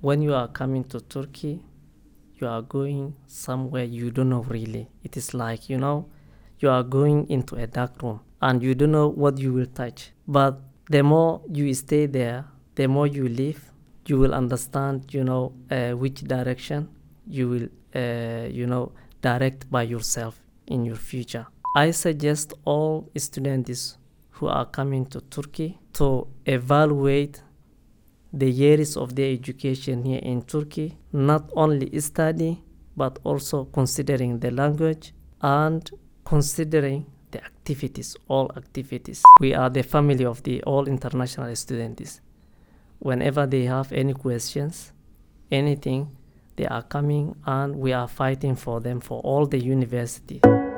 when you are coming to Turkey, you are going somewhere you don't know really. It is like, you are going into a dark room and you don't know what you will touch. But the more you stay there, the more you live, you will understand, which direction you will, direct by yourself in your future. I suggest all students who are coming to Turkey to evaluate the years of their education here in Turkey, not only study, but also considering the language and considering the activities, all activities. We are the family of the all international students. Whenever they have any questions, anything, they are coming and we are fighting for them for all the university.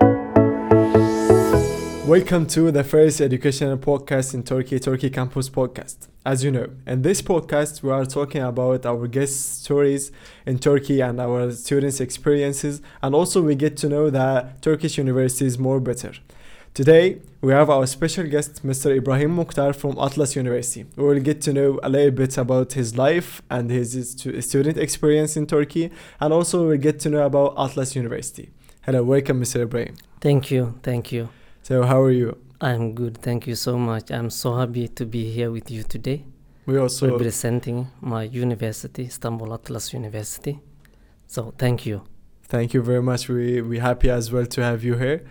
Welcome to the first educational podcast in Turkey Campus Podcast. As you know, in this podcast, we are talking about our guest stories in Turkey and our students' experiences, and also we get to know the Turkish universities more better. Today, we have our special guest, Mr. Ibrahim Mukhtar from Atlas University. We will get to know a little bit about his life and his student experience in Turkey, and also we'll get to know about Atlas University. Hello, welcome, Mr. Ibrahim. Thank you. So how are you? I'm good, thank you so much. I'm so happy to be here with you today. We also representing my university, Istanbul Atlas University. So thank you. Thank you very much. We happy as well to have you here.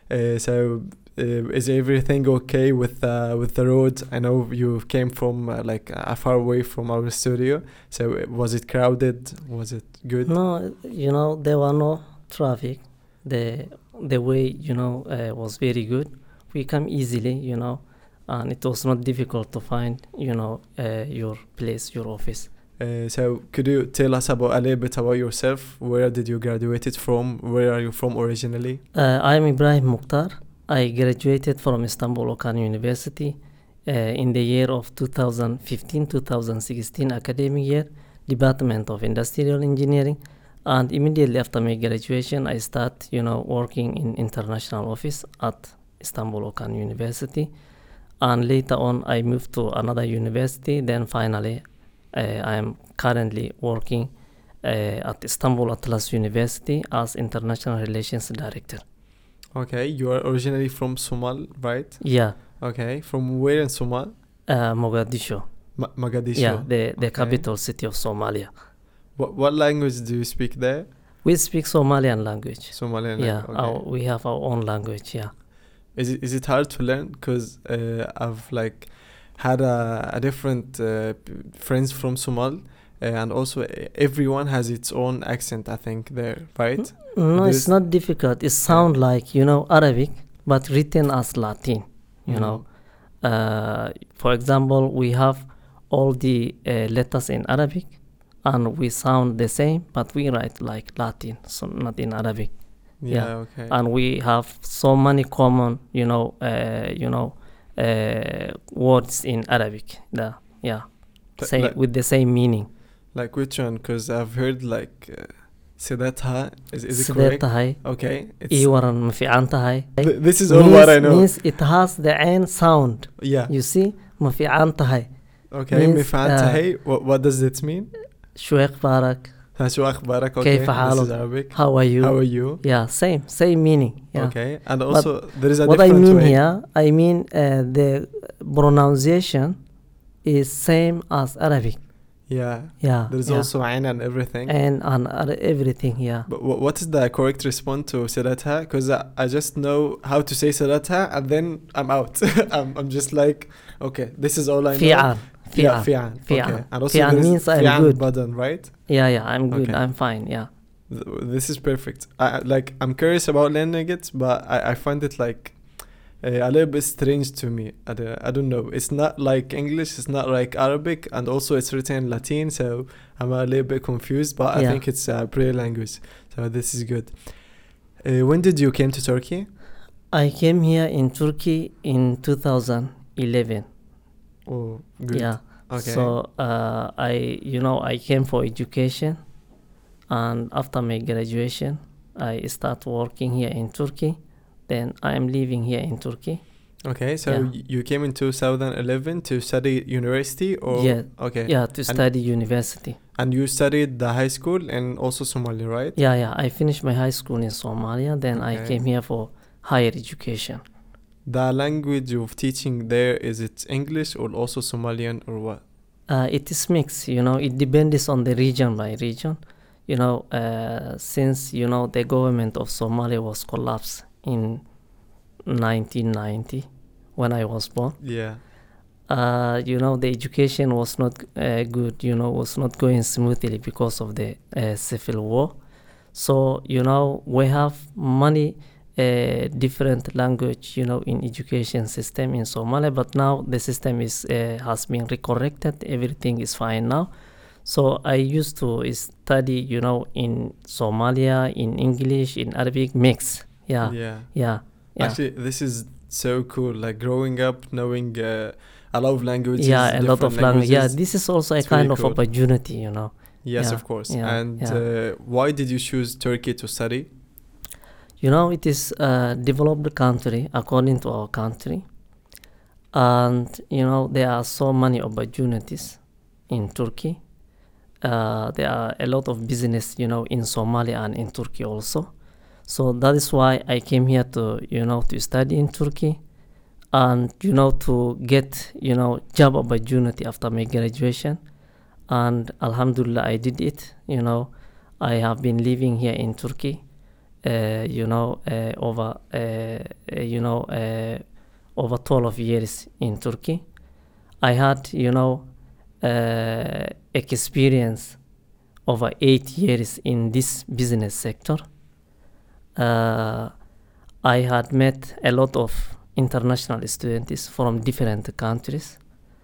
Is everything okay with the road? I know you came from far away from our studio. So was it crowded? Was it good? No, there were no traffic. The way, was very good. We come easily, and it was not difficult to find, your place, your office. So could you tell us a little bit about yourself? Where did you graduate from? Where are you from originally? I am Ibrahim Mukhtar. I graduated from Istanbul Okan University in the year of 2015-2016 academic year, Department of Industrial Engineering. And immediately after my graduation, I start, working in international office at Istanbul Okan University. And later on, I moved to another university. Then finally, I am currently working at Istanbul Atlas University as International Relations Director. Okay, you are originally from Somal, right? Yeah. Okay, from where in Somal? Mogadishu. Mogadishu. Yeah, the capital city of Somalia. What language do you speak there? We speak Somalian language. Somalian yeah, language. Okay. We have our own language. Yeah. Is it hard to learn? Because I've had a different friends from Somal, and also everyone has its own accent. I think there, right? No, it's not difficult. It sounds like Arabic, but written as Latin. For example, we have all the letters in Arabic. And we sound the same, but we write like Latin, so not in Arabic. Yeah. Okay. And we have so many common, words in Arabic. With the same meaning. Like which one? Because I've heard Sidatha. Is it correct? Sidatha. Okay. This is all what I know. Means it has the N sound. Yeah. You see, mafi'antahay. Okay. Mafi'antahay. What does it mean? شو أخبارك? شو أخبارك? Okay. كيف حالك? How are you? Yeah, same meaning. Yeah. Okay. And also there is a what different way. What I mean here, the pronunciation is same as Arabic. Yeah. There's also ain and everything. And everything, yeah. But what is the correct response to Salatha? Because I just know how to say Salatha and then I'm out. I'm just like, okay, this is all I know. Fi'an. Okay. And also Fi'an means I'm good. Button, right? Yeah, I'm good. Okay. I'm fine, yeah. This is perfect. I'm curious about learning it, but I find it a little bit strange to me. I don't know. It's not like English. It's not like Arabic. And also it's written in Latin. So I'm a little bit confused, but I think it's a prayer language. So this is good. When did you came to Turkey? I came here in Turkey in 2011. Oh, good. Yeah. Okay. So I came for education, and after my graduation, I start working here in Turkey. Then I am living here in Turkey. Okay, so you came in 2011 to study university, or to study university. And you studied the high school and also Somali, right? Yeah, I finished my high school in Somalia, then I Okay. came here for higher education. The language of teaching there, is it English or also Somalian or what? It is mixed, it depends on the region by region. Since, the government of Somalia was collapsed in 1990 when I was born. Yeah. The education was not good, was not going smoothly because of the civil war. So, we have many different language, in education system in Somalia, but now the system has been recorrected. Everything is fine now. So I used to study, in Somalia, in English, in Arabic, mix. Yeah. Actually, this is so cool. Like growing up, knowing a lot of languages. Yeah, a lot of language. Yeah, this is also a It's kind really of cool. opportunity, Yes, Yeah, of course. yeah, And yeah. why did you choose Turkey to study? It is a developed country according to our country. And, there are so many opportunities in Turkey. There are a lot of business, in Somalia and in Turkey also. So that is why I came here to, to study in Turkey and, to get, job opportunity after my graduation. And Alhamdulillah, I did it. I have been living here in Turkey, over 12 years in Turkey. I had, experience over 8 years in this business sector. I had met a lot of international students from different countries,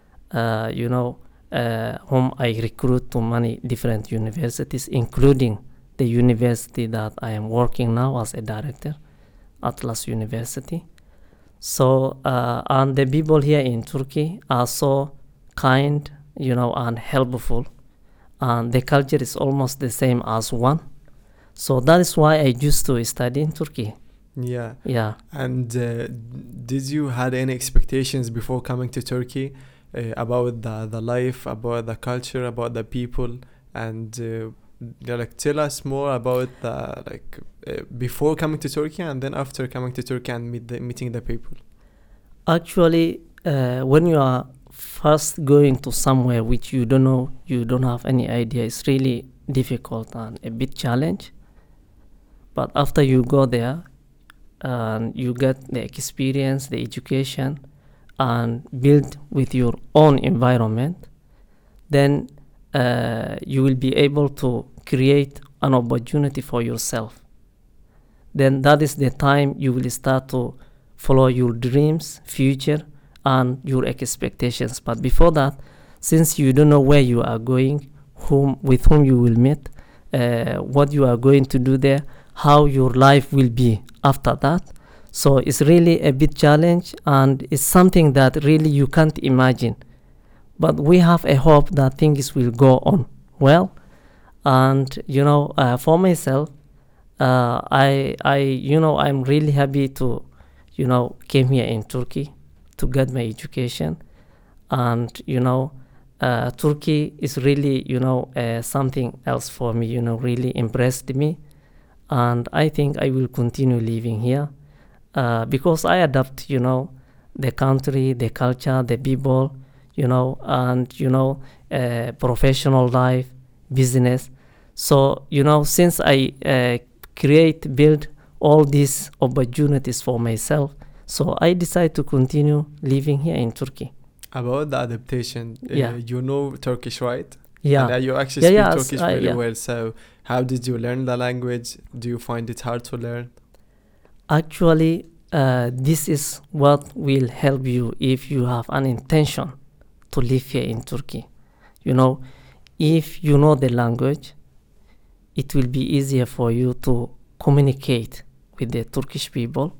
whom I recruit to many different universities, including the university that I am working now as a director, Atlas University. So, and the people here in Turkey are so kind, and helpful. And the culture is almost the same as one. So that is why I used to study in Turkey. Yeah. Yeah. And did you had any expectations before coming to Turkey about the life, about the culture, about the people, and like tell us more about the before coming to Turkey and then after coming to Turkey and meeting the people. Actually, when you are first going to somewhere which you don't know, you don't have any idea, it's really difficult and a bit challenge. But after you go there and you get the experience, the education, and build with your own environment, then you will be able to create an opportunity for yourself. Then that is the time you will start to follow your dreams, future, and your expectations. But before that, since you don't know where you are going, with whom you will meet, what you are going to do there, how your life will be after that. So it's really a big challenge, and it's something that really you can't imagine. But we have a hope that things will go on well. And for myself, I'm really happy to, came here in Turkey to get my education. And Turkey is really something else for me. Really impressed me, and I think I will continue living here because I adapt. The country, the culture, the people. And professional life, business. So since I build all these opportunities for myself, so I decide to continue living here in Turkey. About the adaptation, Yeah. you know Turkish, right? Yeah. And you actually speak yes, Turkish really yeah. well. So how did you learn the language? Do you find it hard to learn? Actually, this is what will help you if you have an intention to live here in Turkey. If you know the language, it will be easier for you to communicate with the Turkish people,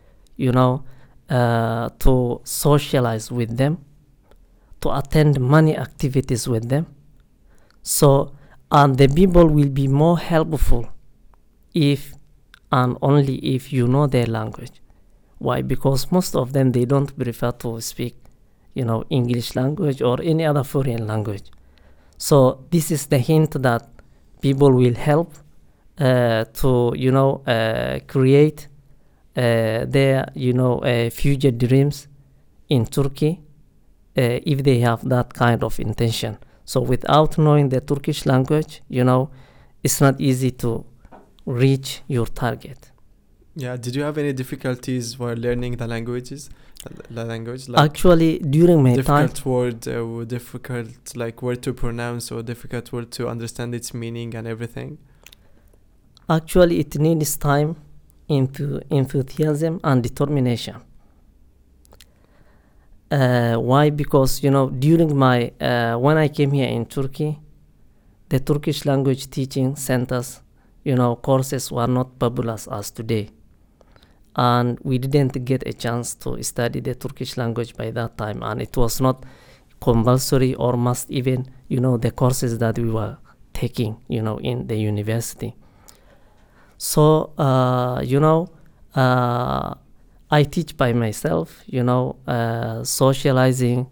to socialize with them, to attend many activities with them. So, and the people will be more helpful if and only if you know their language. Why? Because most of them, they don't prefer to speak, English language or any other foreign language. So this is the hint that people will help to create their future dreams in Turkey if they have that kind of intention. So without knowing the Turkish language, it's not easy to reach your target. Yeah. Did you have any difficulties while learning the languages? The language, like Actually, during my time, difficult word, or difficult like word to pronounce, or difficult word to understand its meaning and everything. actually it needs time, enthusiasm, and determination. Why? Because during my when I came here in Turkey, the Turkish language teaching centers, courses were not popular as today, and we didn't get a chance to study the Turkish language by that time, and it was not compulsory or must even the courses that we were taking in the university. So I teach by myself, socializing,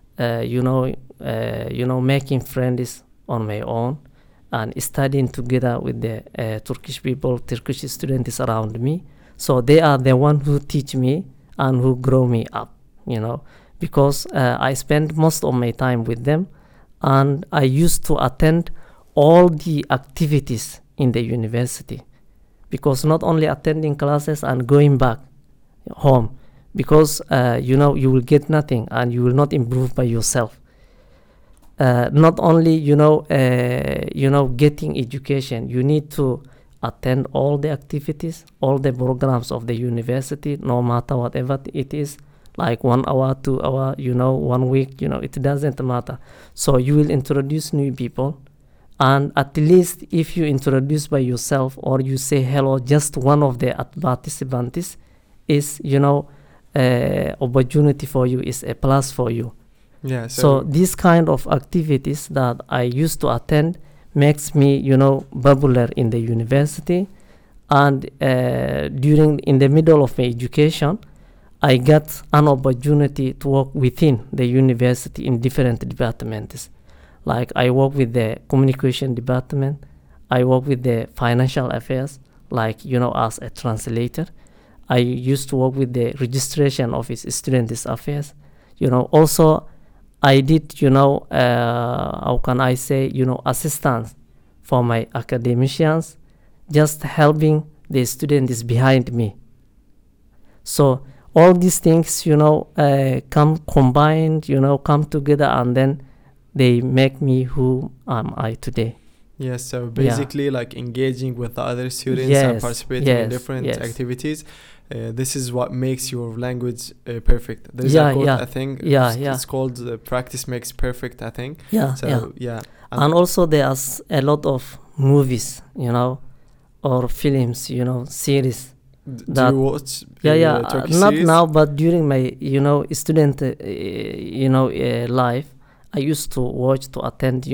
making friends on my own, and studying together with the Turkish people, Turkish students around me. So they are the one who teach me and who grow me up, because I spend most of my time with them, and I used to attend all the activities in the university, because not only attending classes and going back home, because you will get nothing and you will not improve by yourself. Not only getting education, you need to attend all the activities, all the programs of the university, no matter whatever it is, like 1 hour, 2 hour, 1 week, it doesn't matter. So you will introduce new people, and at least if you introduce by yourself or you say hello, just one of the participants is opportunity for you, is a plus for you. Yeah. So these kind of activities that I used to attend makes me popular in the university. And in the middle of my education, I got an opportunity to work within the university in different departments. Like I work with the communication department, I work with the financial affairs, like as a translator. I used to work with the registration office, students affairs. Also I did how can I say assistance for my academicians, just helping the students behind me. So all these things come combined, come together, and then they make me who am I today. Yes, so basically like engaging with the other students and Yes, participating in yes, different yes. activities. This is what makes your language perfect. There is Yeah, a quote, yeah. I think, Yeah, it's, yeah. it's called practice makes perfect, I think. Yeah, So, yeah. yeah. And also there's a lot of movies, or films, series. Do that- you watch Yeah, Turkish not series? now, but during my student life, I used to watch, to attend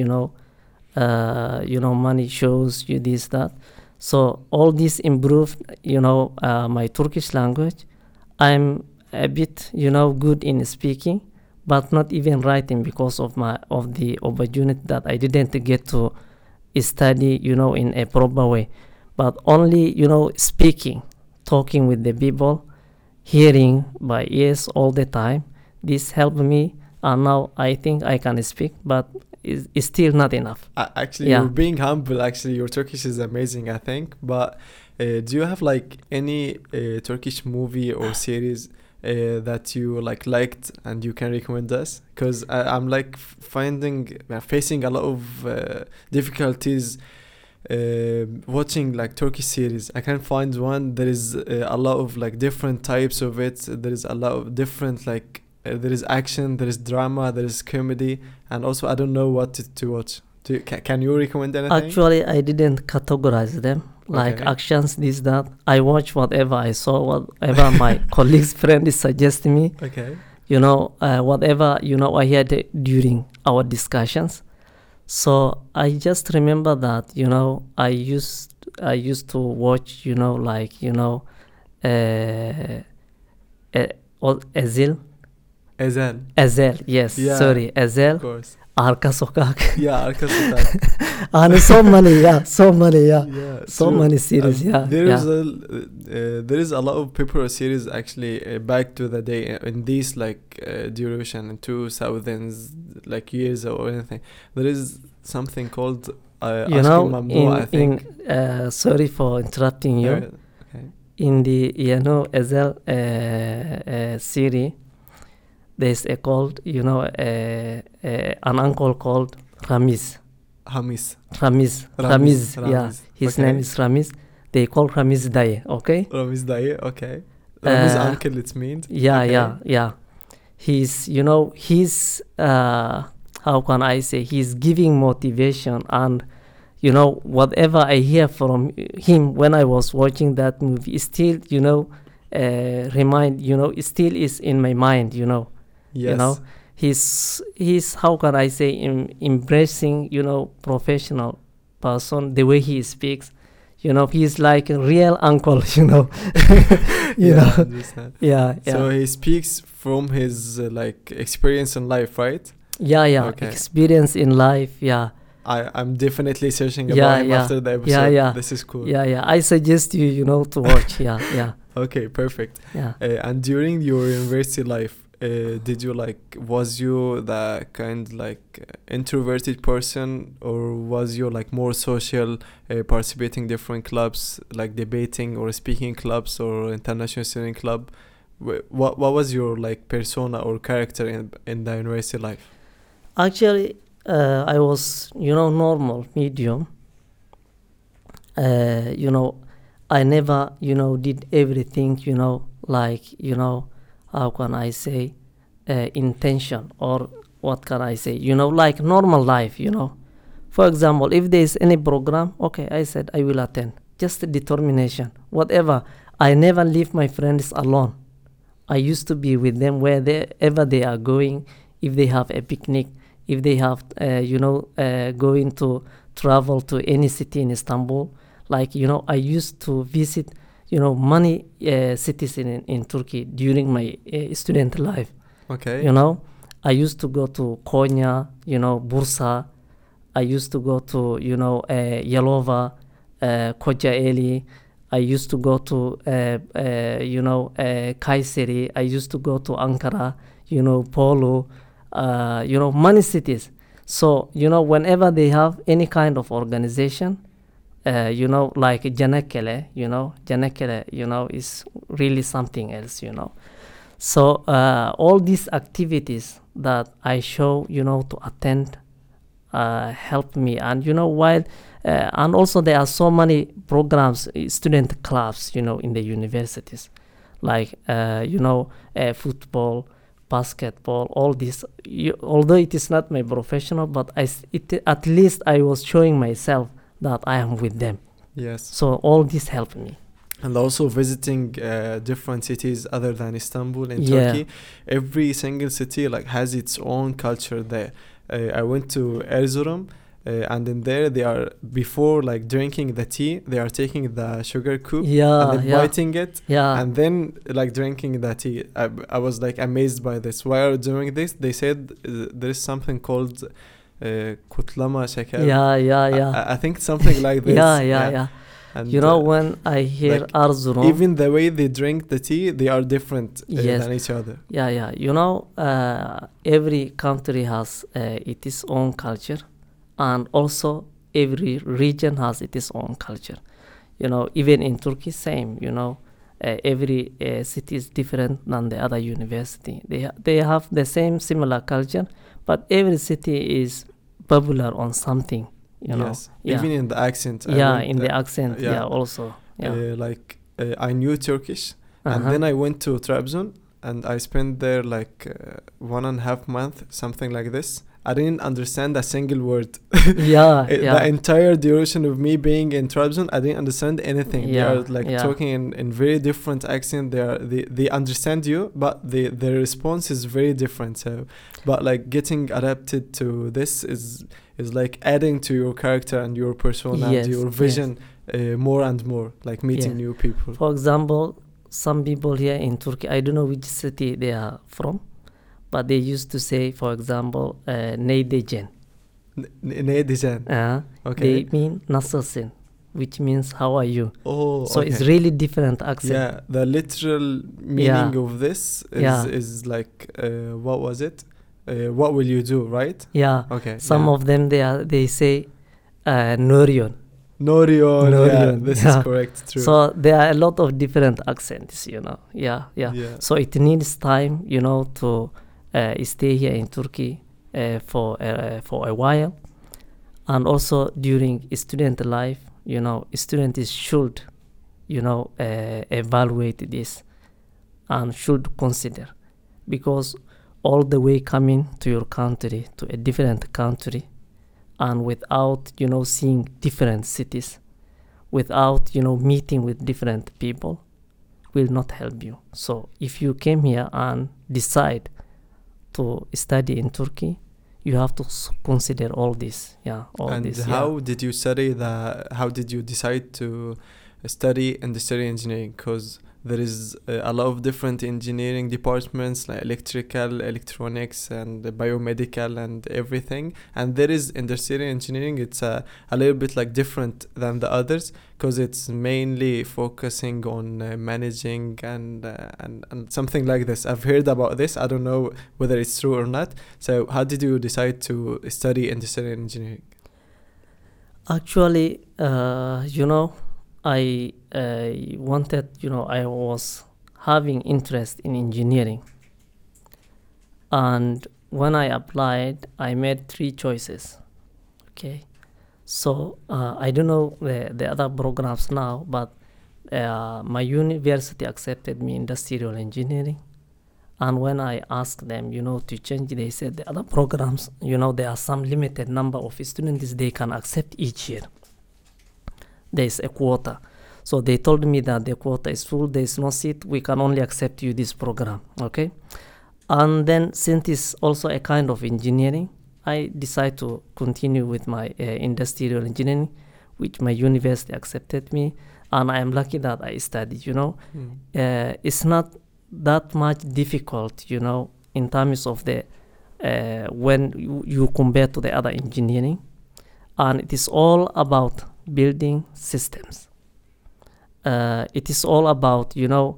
money shows, this, that. So all this improved my Turkish language. I'm a bit good in speaking, but not even writing, because of the opportunity that I didn't get to study in a proper way, but only speaking, talking with the people, hearing by ears all the time. This helped me, and now I think I can speak, but it's still not enough. Actually, Yeah. you're being humble. Actually, your Turkish is amazing, I think. But do you have like any Turkish movie or series that you liked and you can recommend us? Because I'm like facing a lot of difficulties watching like Turkish series. I can't find one. There is a lot of like different types of it. There is a lot of different there is action, there is drama, there is comedy, and also I don't know what to watch. Can you recommend anything? Actually, I didn't categorize them like Okay. actions, this, that. I watch whatever I saw, whatever my colleagues, friends suggest me. Okay. Whatever I heard during our discussions. So I just remember that I used to watch Ezil. Ezel. Ezel, yes, Yeah. sorry, Of Ezel. course. Arka Sokak. Yeah, Arka Sokak. And so many, yeah, Yeah, so true. many series, yeah, There is a lot of popular series actually back to the day in these like duration in 2000s like years or anything. There is something called You Ashki know, Mamnu, I think. sorry for interrupting you. Okay. In the, you know, Ezel series, there's a called, you know, an uncle called Ramiz. Hamis. Ramiz, yeah. Ramiz. His Okay. name is Ramiz. They call Ramiz Daye, okay? Ramiz Daye, okay. Ramiz uncle, it means. Yeah, Okay. yeah. He's, you know, how can I say, he's giving motivation, and, you know, whatever I hear from him when I was watching that movie, it still, you know, it still is in my mind, you know. Yes. You know, he's how can I say, embracing, you know, professional person, the way he speaks, you know, he's like a real uncle, you know. You Yeah, I know. understand. Yeah. So he speaks from his like experience in life, right? Yeah. Okay. Experience in life, yeah. I'm definitely searching Yeah, about him yeah. after the episode. Yeah. This is cool. Yeah. I suggest you, you know, to watch. Yeah. Okay, perfect. Yeah. And during your university life, was you the kind like introverted person, or was you like more social, participating different clubs like debating or speaking clubs or international student club? What was your like persona or character in the university life? Actually, I was, you know, normal, medium. You know, I never, you know, did everything, you know, like, you know, how can I say, intention, or what can I say, you know, like normal life, you know. For example, if there is any program, okay, I said I will attend. Just determination, whatever. I never leave my friends alone. I used to be with them wherever they are going. If they have a picnic, if they have, going to travel to any city in Istanbul, like, you know, I used to visit, you know, many cities in Turkey during my student life. Okay. You know, I used to go to Konya, you know, Bursa. I used to go to, you know, Yalova, Kocaeli. I used to go to, Kayseri. I used to go to Ankara, you know, Polo, many cities. So, you know, whenever they have any kind of organization, like Janakele, is really something else, you know. So all these activities that I show, you know, to attend help me. And, you know, and also there are so many programs, student clubs, you know, in the universities, like, football, basketball, all this. Although it is not my professional, but at least I was showing myself that I am with them. Yes. So all this helped me. And also visiting different cities other than Istanbul in Yeah. Turkey. Every single city like has its own culture there. I went to Erzurum, and in there they are, before like drinking the tea, they are taking the sugar cube and then biting it, and then like drinking the tea. I was like amazed by this. Why are you doing this? They said there is something called kutlama şeker. I think something like this. Yeah. And you know, when I hear like Erzurum, even the way they drink the tea, they are different than each other. Yeah. You know, every country has its own culture, and also every region has its own culture. You know, even in Turkey, same. You know, every city is different than the other university. They have the same similar culture, but every city is popular on something. You know, even in the accent. The accent. Yeah, also. Yeah. I knew Turkish, and then I went to Trabzon, and I spent there like 1.5 months, something like this. I didn't understand a single word. The entire duration of me being in Trabzon, I didn't understand anything. They are like talking in very different accent. They understand you, but their response is very different. So, but like getting adapted to this is like adding to your character and your persona and your vision more and more, like meeting new people. For example, some people here in Turkey, I don't know which city they are from, but they used to say, for example, Neydejen. Neydejen. Okay. They mean Nasılsın, which means how are you. Oh, So okay. it's really different accent. Yeah, the literal meaning of this is like, what was it? What will you do, right? Yeah. Okay. Some of them they say Nurion. Norion. This is correct. True. So there are a lot of different accents, Yeah. So it needs time, to stay here in Turkey for a while, and also during student life, students should, evaluate this and should consider, because all the way coming to your country, to a different country, and without, seeing different cities, without, meeting with different people, will not help you. So if you came here and decide to study in Turkey, you have to consider all this. How did you study how did you decide to study industrial engineering? Because there is a lot of different engineering departments like electrical, electronics, and biomedical and everything. And there is industrial engineering. It's a little bit like different than the others because it's mainly focusing on managing and something like this. I've heard about this. I don't know whether it's true or not. So how did you decide to study industrial engineering? Actually, I wanted, I was having interest in engineering. And when I applied, I made 3 choices. Okay. So I don't know the other programs now, but my university accepted me industrial engineering. And when I asked them, to change, they said the other programs, there are some limited number of students they can accept each year. There is a quota. So they told me that the quota is full, there is no seat, we can only accept you this program, okay? And then since it's also a kind of engineering, I decided to continue with my industrial engineering, which my university accepted me, and I am lucky that I studied, It's not that much difficult, in terms of the, when you compare to the other engineering, and it is all about building systems. It is all about,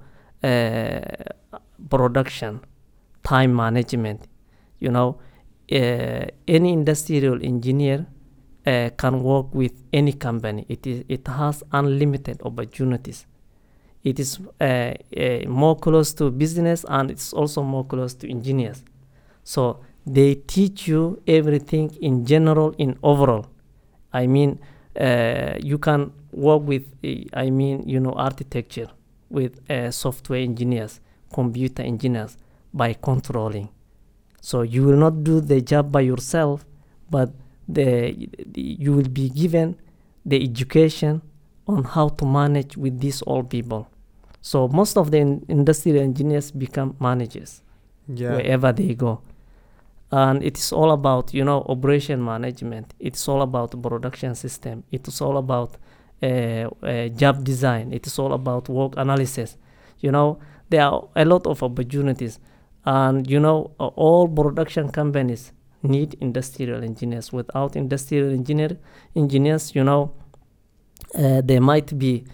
production, time management. Any industrial engineer can work with any company. It has unlimited opportunities. It is more close to business, and it's also more close to engineers. So they teach you everything in general, in overall. I mean, you can work with, architecture, with software engineers, computer engineers, by controlling. So you will not do the job by yourself, but you will be given the education on how to manage with these all people. So most of the industrial engineers become managers wherever they go. And it is all about, operation management. It's all about production system. It is all about job design. It is all about work analysis. There are a lot of opportunities. And, all production companies need industrial engineers. Without industrial engineers, there might be,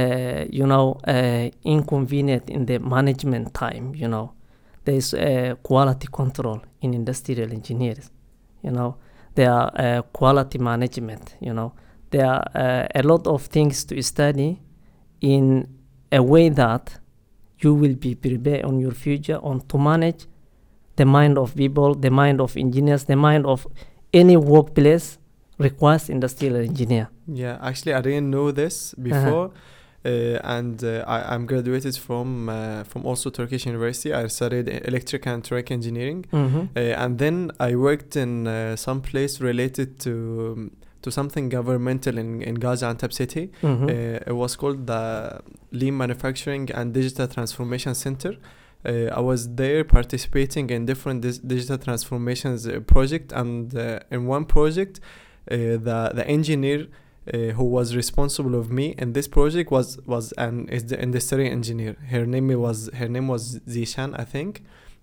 inconvenient in the management time, There is quality control in industrial engineers, There are quality management, There are a lot of things to study in a way that you will be prepared on your future on to manage the mind of people, the mind of engineers, the mind of any workplace requires industrial engineer. Yeah, actually, I didn't know this before. And I'm graduated from also Turkish University. I studied electrical and electronic engineering, and then I worked in some place related to something governmental in Gaziantep city. It was called the Lean Manufacturing and Digital Transformation Center. I was there participating in different digital transformations project, and in one project, the engineer who was responsible of me in this project is the industrial engineer. Her name was Zishan, I think.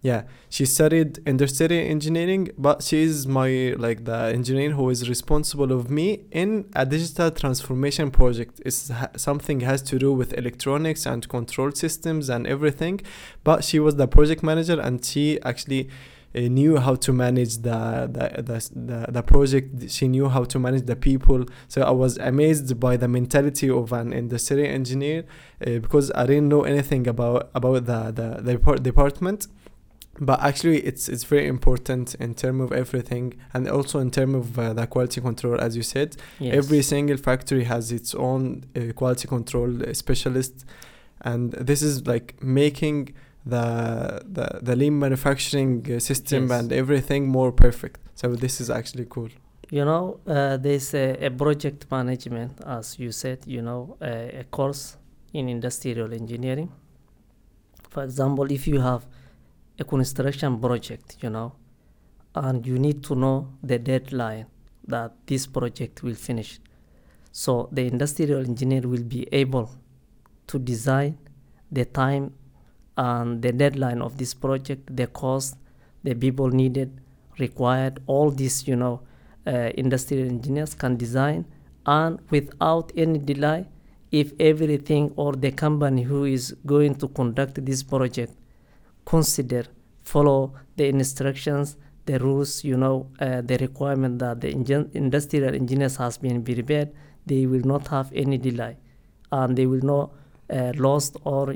Yeah, she studied industrial engineering, but she is my like the engineer who is responsible of me in a digital transformation project. It's something has to do with electronics and control systems and everything. But she was the project manager, and she actually knew how to manage the project. She knew how to manage the people. So I was amazed by the mentality of an industrial engineer, because I didn't know anything about the department. But actually it's very important in terms of everything, and also in terms of the quality control, as you said. Yes. Every single factory has its own quality control specialist, and this is like making the lean manufacturing system Yes. and everything more perfect. So this is actually cool. You know, there's a project management, as you said, you know, a course in industrial engineering. For example, if you have a construction project, you know, and you need to know the deadline that this project will finish. So the industrial engineer will be able to design the time and the deadline of this project, the cost, the people needed, required, all this, you know, industrial engineers can design, and without any delay, if everything or the company who is going to conduct this project follow the instructions, the rules, you know, the requirement that the industrial engineers has been prepared, they will not have any delay, and they will not lost, or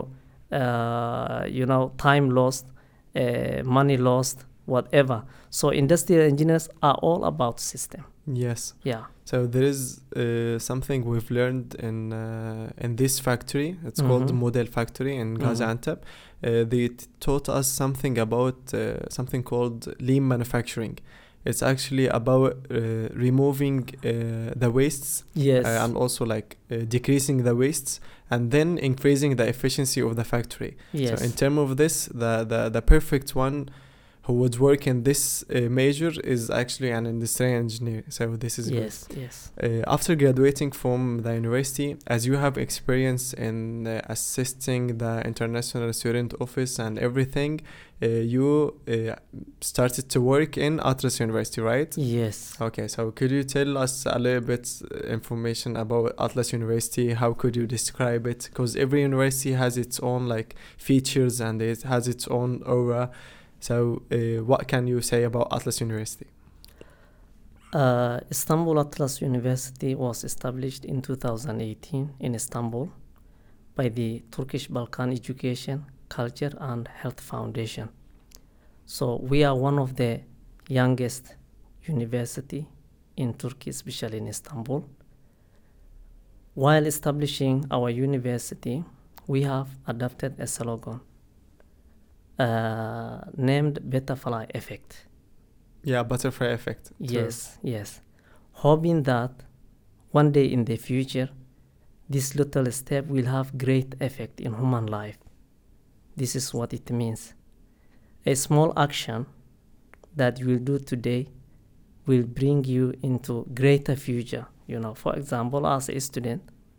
time lost, money lost, whatever. So industrial engineers are all about system. Yes. Yeah. So there is something we've learned in this factory. It's called Model Factory in Gaziantep. They taught us something about something called lean manufacturing. It's actually about removing the wastes. Yes. And also like decreasing the wastes, and then increasing the efficiency of the factory. Yes. So in terms of this, the perfect one who would work in this major is actually an industrial engineer. So this is yes, good. Yes. After graduating from the university, as you have experience in assisting the international student office and everything, you started to work in Atlas University, right? Yes. Okay, so could you tell us a little bit information about Atlas University? How could you describe it? Because every university has its own like features, and it has its own aura. So what can you say about Atlas University? Istanbul Atlas University was established in 2018 in Istanbul by the Turkish Balkan Education, Culture and Health Foundation. So we are one of the youngest university in Turkey, especially in Istanbul. While establishing our university, we have adopted a slogan named Butterfly Effect. Yeah, Butterfly Effect. Yes, yes. Hoping that one day in the future, this little step will have great effect in human life. This is what it means. A small action that you will do today will bring you into greater future. You know, for example, as a student,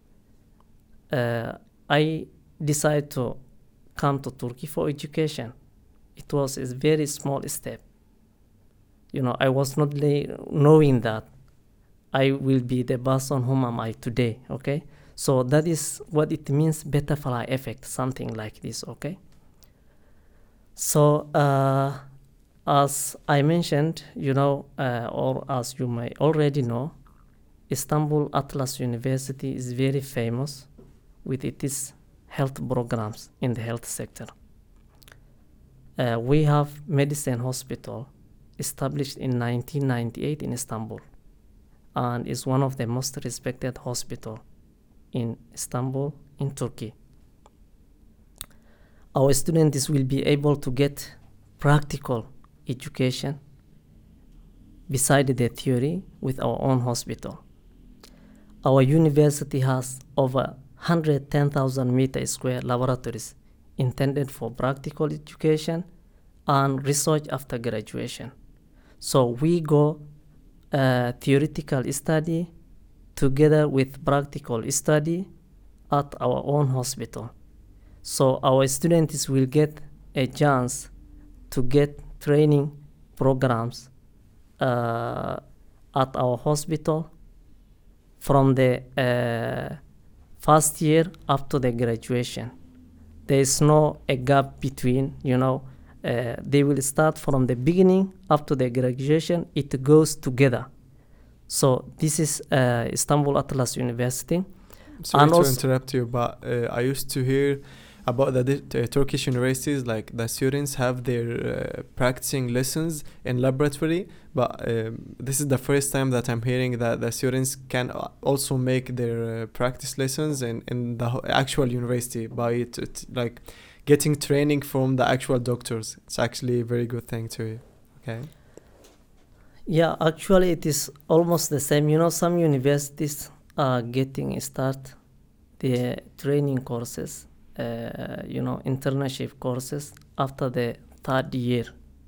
I decided to come to Turkey for education. It was a very small step. You know, I was not knowing that I will be the person whom am I today, okay? So that is what it means, butterfly effect, something like this, okay? So as I mentioned, you know, or as you may already know, Istanbul Atlas University is very famous with its health programs in the health sector. We have Medicine Hospital established in 1998 in Istanbul, and is one of the most respected hospital in Istanbul, in Turkey. Our students will be able to get practical education beside the theory with our own hospital. Our university has over 110,000 meter square laboratories intended for practical education and research after graduation. So we go theoretical study together with practical study at our own hospital. So our students will get a chance to get training programs at our hospital from the first year up to the graduation. There is no a gap between, they will start from the beginning up to the graduation. It goes together. So this is Istanbul Atlas University. Sorry And to also- interrupt you, but I used to hear about the Turkish universities, like the students have their practicing lessons in laboratory, but this is the first time that I'm hearing that the students can also make their practice lessons in the actual university by like getting training from the actual doctors. It's actually a very good thing too. Okay. Yeah, actually it is almost the same. Some universities are getting start the training courses, internship courses after the third year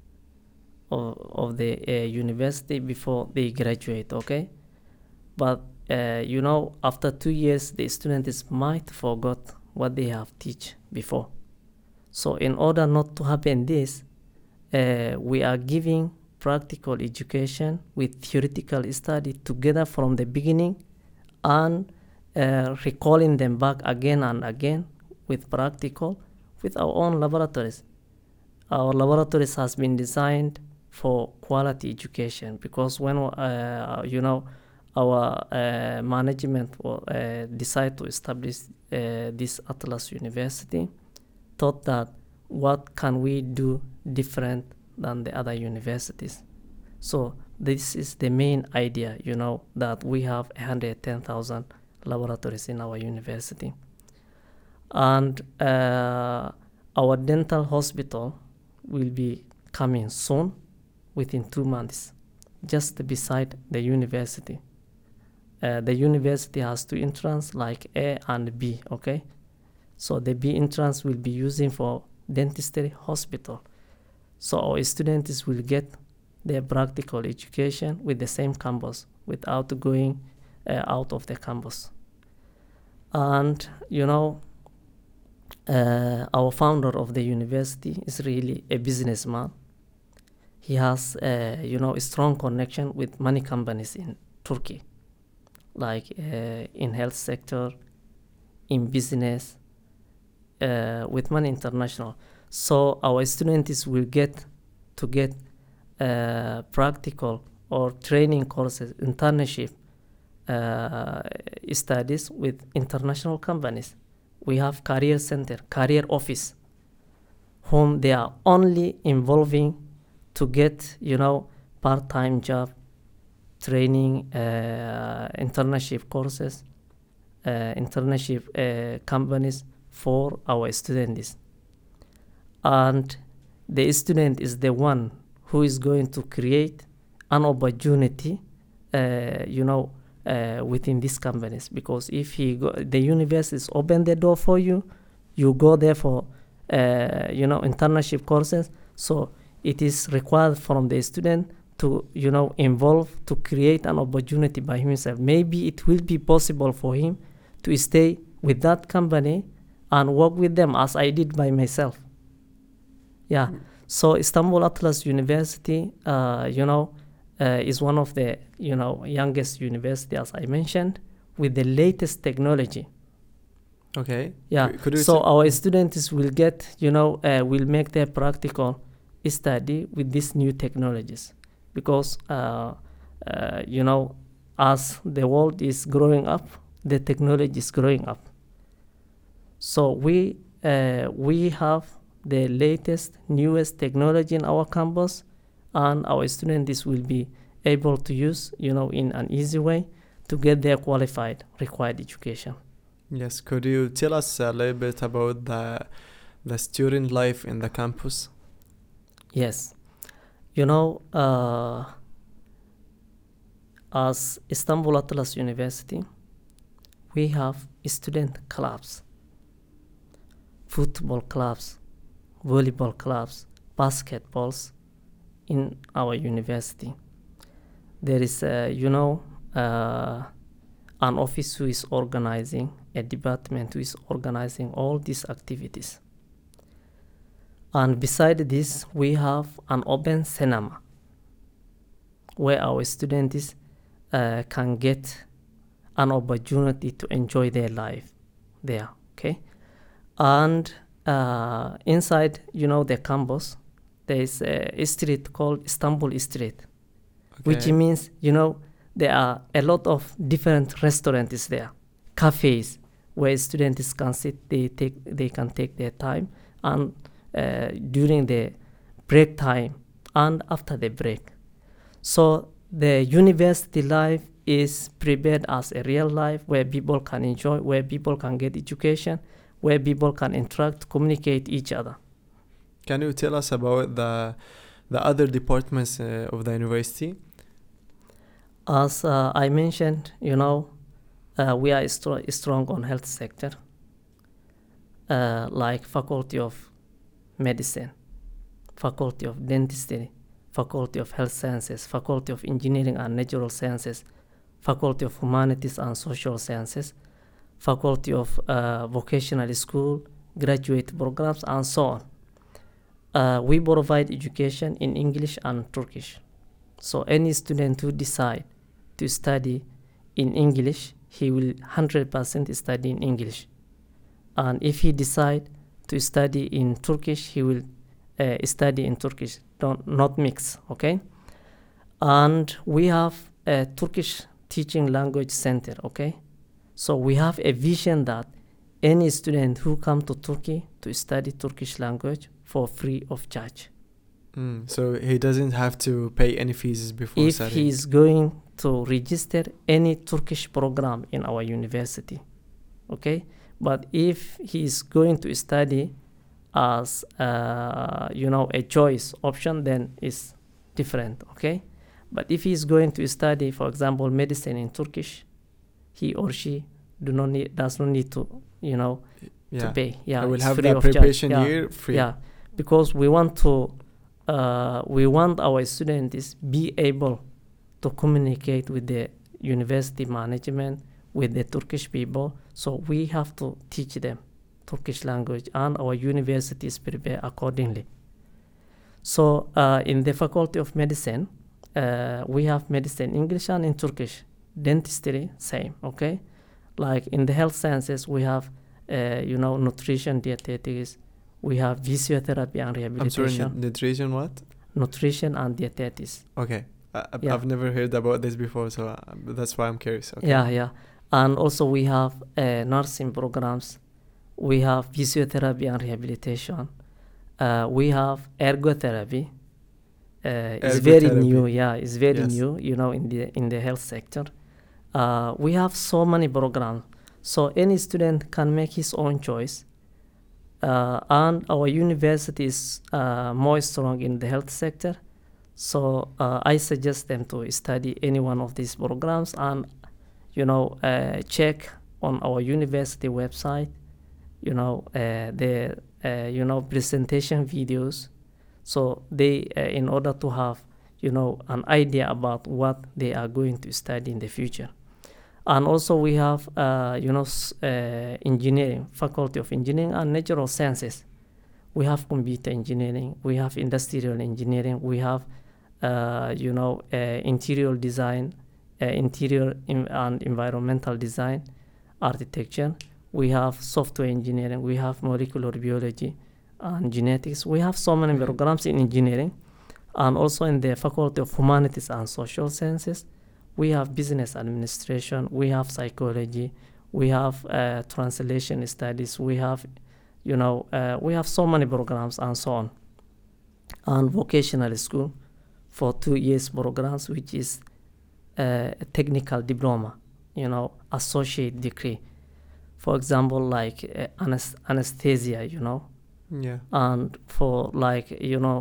of the university before they graduate, okay? But, after 2 years, the students might forgot what they have teach before. So in order not to happen this, we are giving practical education with theoretical study together from the beginning, and recalling them back again and again with practical, with our own laboratories. Our laboratories has been designed for quality education, because when our management decide to establish this Atlas University, thought that what can we do different than the other universities. So this is the main idea, that we have 110,000 laboratories in our university. And our dental hospital will be coming soon, within 2 months, just beside the university. The university has 2 entrance, like A and B, okay? So the B entrance will be using for dentistry hospital. So our students will get their practical education with the same campus without going out of the campus. And, our founder of the university is really a businessman. He has, a strong connection with many companies in Turkey, like in health sector, in business, with many international. So our students will get practical or training courses, internship studies with international companies. We have career center, career office, whom they are only involving to get, part-time job, training, internship courses, internship companies for our students. And the student is the one who is going to create an opportunity, within these companies. Because if the universities open the door for you, you go there for, internship courses. So it is required from the student to, involve, to create an opportunity by himself. Maybe it will be possible for him to stay with that company and work with them, as I did by myself. Yeah. So Istanbul Atlas University, is one of the, youngest university, as I mentioned, with the latest technology. Okay. Yeah. Could you So our students will get, will make their practical study with these new technologies, because, as the world is growing up, the technology is growing up. So we have the latest, newest technology in our campus, and our students will be able to use, in an easy way to get their qualified, required education. Yes, could you tell us a little bit about the student life in the campus? Yes. As Istanbul Atlas University, we have student clubs, football clubs, volleyball clubs, basketballs in our university. There is, an office who is organizing, a department who is organizing all these activities. And beside this, we have an open cinema where our students can get an opportunity to enjoy their life there, okay? And inside, the campus, there is a street called Istanbul Street, which Okay. means, there are a lot of different restaurants there, cafes, where students can sit, they can take their time, and during the break time and after the break. So the university life is prepared as a real life where people can enjoy, where people can get education, where people can interact, communicate each other. Can you tell us about the other departments of the university? As I mentioned, we are strong on health sector, like Faculty of Medicine, Faculty of Dentistry, Faculty of Health Sciences, Faculty of Engineering and Natural Sciences, Faculty of Humanities and Social Sciences, Faculty of Vocational School, graduate programs, and so on. We provide education in English and Turkish. So any student who decide to study in English, he will 100% study in English. And if he decide to study in Turkish, he will study in Turkish, not mix, okay? And we have a Turkish teaching language center, okay? So we have a vision that any student who come to Turkey to study Turkish language for free of charge. So he doesn't have to pay any fees before If studying. he is going to register any Turkish program in our university, okay? But if he is going to study as a choice option, then it's different, okay? But if he is going to study, for example, medicine in Turkish, he or she does not need to to pay. Yeah, I will it's have free that of charge. preparation Yeah. year free. Yeah, because we want our students be able to communicate with the university management, with the Turkish people. So we have to teach them Turkish language, and our universities prepare accordingly. So in the Faculty of Medicine, we have medicine English and in Turkish. Dentistry, same, okay? Like in the health sciences, we have, nutrition, dietetics. We have physiotherapy and I'm rehabilitation. sorry, nutrition what? Nutrition and dietetics. Okay. Yeah. I've never heard about this before, so that's why I'm curious. Okay. Yeah. And also we have nursing programs. We have physiotherapy and rehabilitation. We have ergotherapy. It's very Ergotherapy. new. Yeah, it's very Yes. new. In the health sector, we have so many programs. So any student can make his own choice. And our university is more strong in the health sector. So I suggest them to study any one of these programs and, check on our university website, the presentation videos. So they, in order to have, an idea about what they are going to study in the future. And also we have, engineering, Faculty of Engineering and Natural Sciences. We have computer engineering. We have industrial engineering. We have, interior design, interior and environmental design, architecture. We have software engineering. We have molecular biology and genetics. We have so many programs in engineering. And also in the Faculty of Humanities and Social Sciences, we have business administration, we have psychology, we have translation studies, we have, we have so many programs and so on. And vocational school for 2 years programs, which is a technical diploma, associate degree. For example, like anesthesia, Yeah. and for like,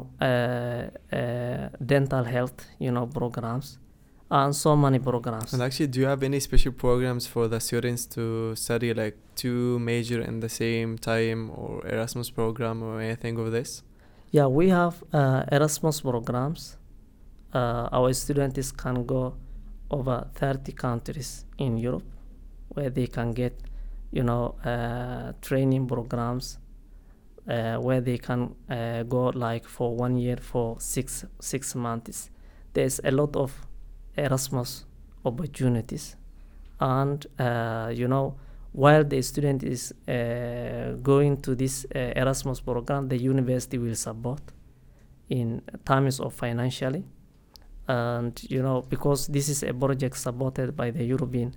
dental health, programs. And so many programs. And actually, do you have any special programs for the students to study like 2 major in the same time, or Erasmus program or anything of this? Yeah, we have Erasmus programs. Our students can go over 30 countries in Europe where they can get, training programs where they can go like for 1 year for six months. There's a lot of Erasmus opportunities, and while the student is going to this Erasmus program, the university will support in terms of financially, and because this is a project supported by the European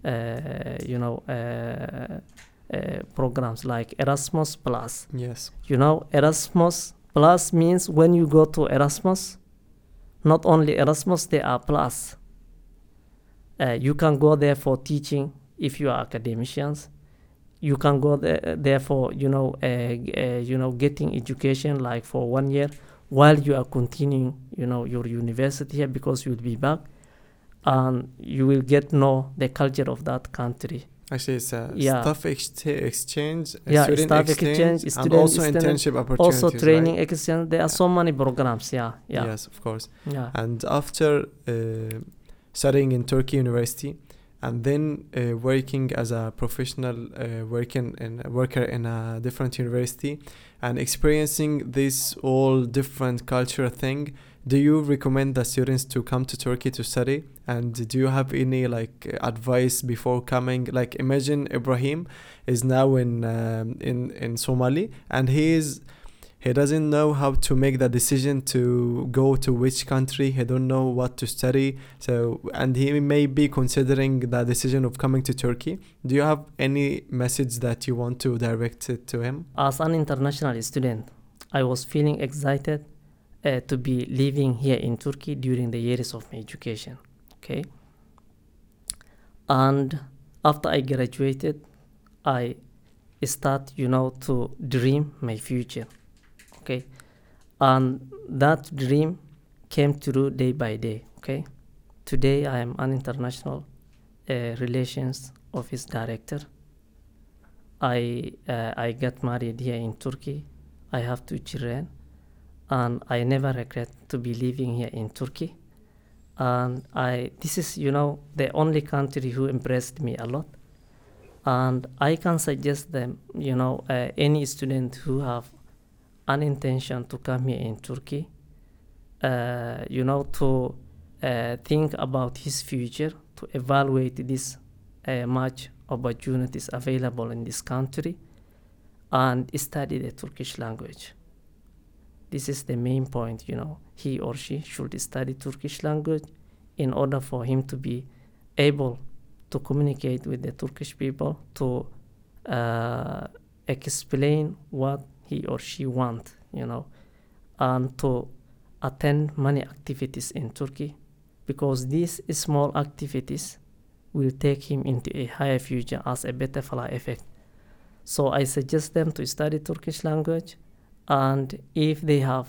programs like Erasmus Plus. Yes. Erasmus Plus means when you go to Erasmus, not only Erasmus, there are plus. You can go there for teaching if you are academicians. You can go there for getting education like for 1 year while you are continuing your university here, because you will be back and you will get know the culture of that country. Actually, it's a Yeah. staff exchange, Staff student exchange, and student also exchange, internship opportunities. Also training right? exchange. There are so many programs. Yeah. Yes, of course. Yeah. And after studying in Turkey University, and then working as a professional worker in a different university, and experiencing this all different culture thing, do you recommend the students to come to Turkey to study? And do you have any advice before coming? Like, imagine Ibrahim is now in Somali, and he doesn't know how to make the decision to go to which country. He don't know what to study. So, and he may be considering the decision of coming to Turkey. Do you have any message that you want to direct it to him? As an international student, I was feeling excited to be living here in Turkey during the years of my education. Okay. And after I graduated, I start, to dream my future. Okay. And that dream came true day by day. Okay. Today I am an international relations office director. I got married here in Turkey. I have 2 children, and I never regret to be living here in Turkey. And this is, the only country who impressed me a lot. And I can suggest them, any student who have an intention to come here in Turkey, to think about his future, to evaluate this much opportunities available in this country, and study the Turkish language. This is the main point, he or she should study Turkish language in order for him to be able to communicate with the Turkish people, to explain what he or she want, and to attend many activities in Turkey, because these small activities will take him into a higher future as a butterfly effect. So I suggest them to study Turkish language, and if they have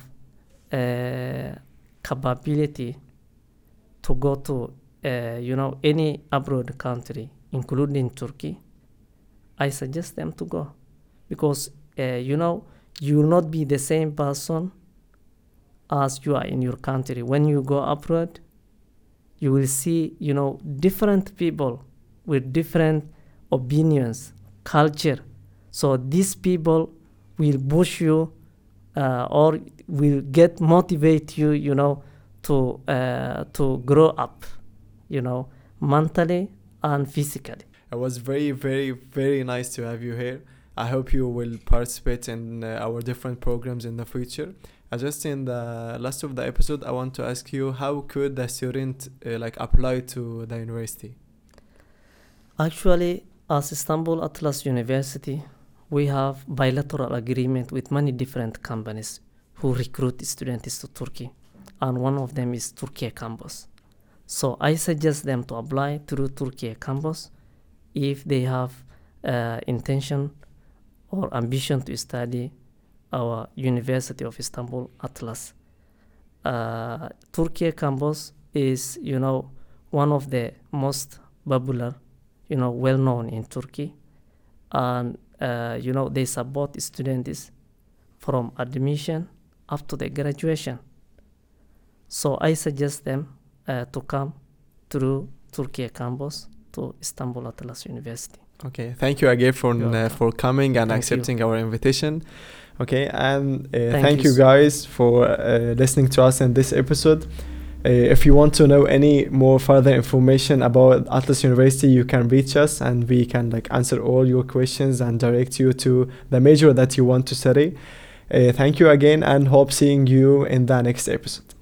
capability to go to any abroad country, including Turkey, I suggest them to go, because you will not be the same person as you are in your country. When you go abroad, you will see different people with different opinions, culture. So these people will push you or will motivate you, to grow up, mentally and physically. It was very, very, very nice to have you here. I hope you will participate in our different programs in the future. Just in the last of the episode, I want to ask you, how could the student apply to the university? Actually, as Istanbul Atlas University, we have bilateral agreement with many different companies who recruit students to Turkey, and one of them is Turkey Campus. So I suggest them to apply through Turkey Campus if they have intention or ambition to study our University of Istanbul Atlas. Turkey Campus is, one of the most popular, well-known in Turkey, and they support students from admission up to the graduation. So I suggest them to come through Turkey Campus to Istanbul Atlas University. Okay, thank you again You're welcome. for coming and Thank you. accepting our invitation. Okay, and Thank thank you you guys for listening to us in this episode. If you want to know any more further information about Atlas University, you can reach us and we can like answer all your questions and direct you to the major that you want to study. Thank you again and hope seeing you in the next episode.